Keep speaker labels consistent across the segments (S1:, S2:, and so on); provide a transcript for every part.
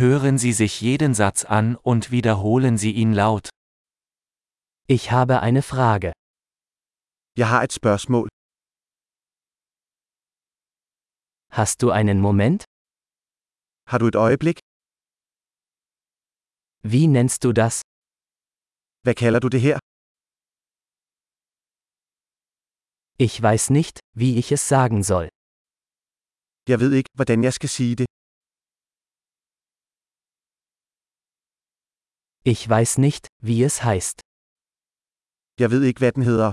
S1: Hören Sie sich jeden Satz an und wiederholen Sie ihn laut.
S2: Ich habe eine Frage.
S3: Jeg har et spørgsmål.
S2: Hast du einen Moment?
S3: Har du et øjeblik?
S2: Wie nennst du das?
S3: Hvad kalder du det her?
S2: Ich weiß nicht, wie ich es sagen soll.
S3: Jeg ved ikke, hvordan jeg skal sige det.
S2: Ich weiß nicht, wie es heißt.
S3: Jeg ved ikke, hvad den hedder.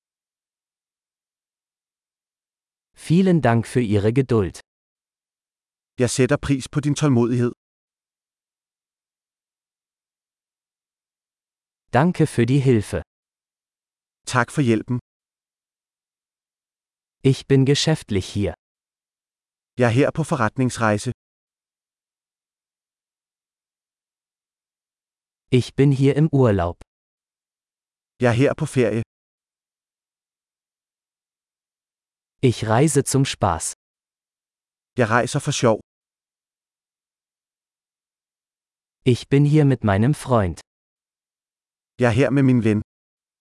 S2: Vielen Dank für Ihre Geduld.
S3: Jeg sætter pris på din tålmodighed.
S2: Danke für die Hilfe.
S3: Tak for hjælpen.
S2: Ich bin geschäftlich hier.
S3: Jeg er her på forretningsrejse.
S2: Ich bin hier im Urlaub.
S3: Jeg er her på ferie.
S2: Ich reise zum Spaß.
S3: Jeg rejser for sjov.
S2: Ich bin hier mit meinem Freund.
S3: Jeg er her med min ven.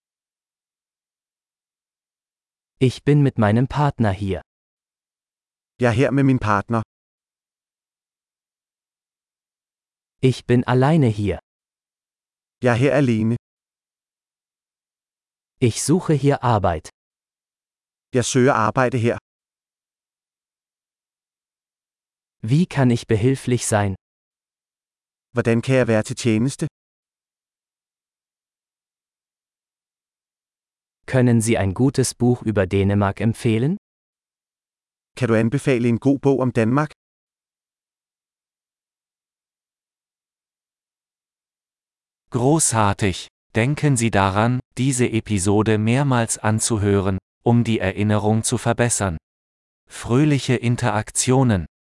S2: Ich bin mit meinem Partner hier.
S3: Jeg er her med min partner.
S2: Ich bin alleine hier.
S3: Jeg er her alene.
S2: Ich suche hier Arbeit.
S3: Jeg søger arbejde her.
S2: Wie kann ich behilflich sein?
S3: Hvordan kan jeg være til tjeneste?
S2: Können Sie ein gutes Buch über Dänemark empfehlen?
S3: Kan du anbefale en god bog om Danmark?
S1: Großartig! Denken Sie daran, diese Episode mehrmals anzuhören, um die Erinnerung zu verbessern. Fröhliche Interaktionen!